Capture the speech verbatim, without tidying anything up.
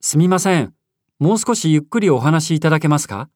すみません。もう少しゆっくりお話しいただけますか？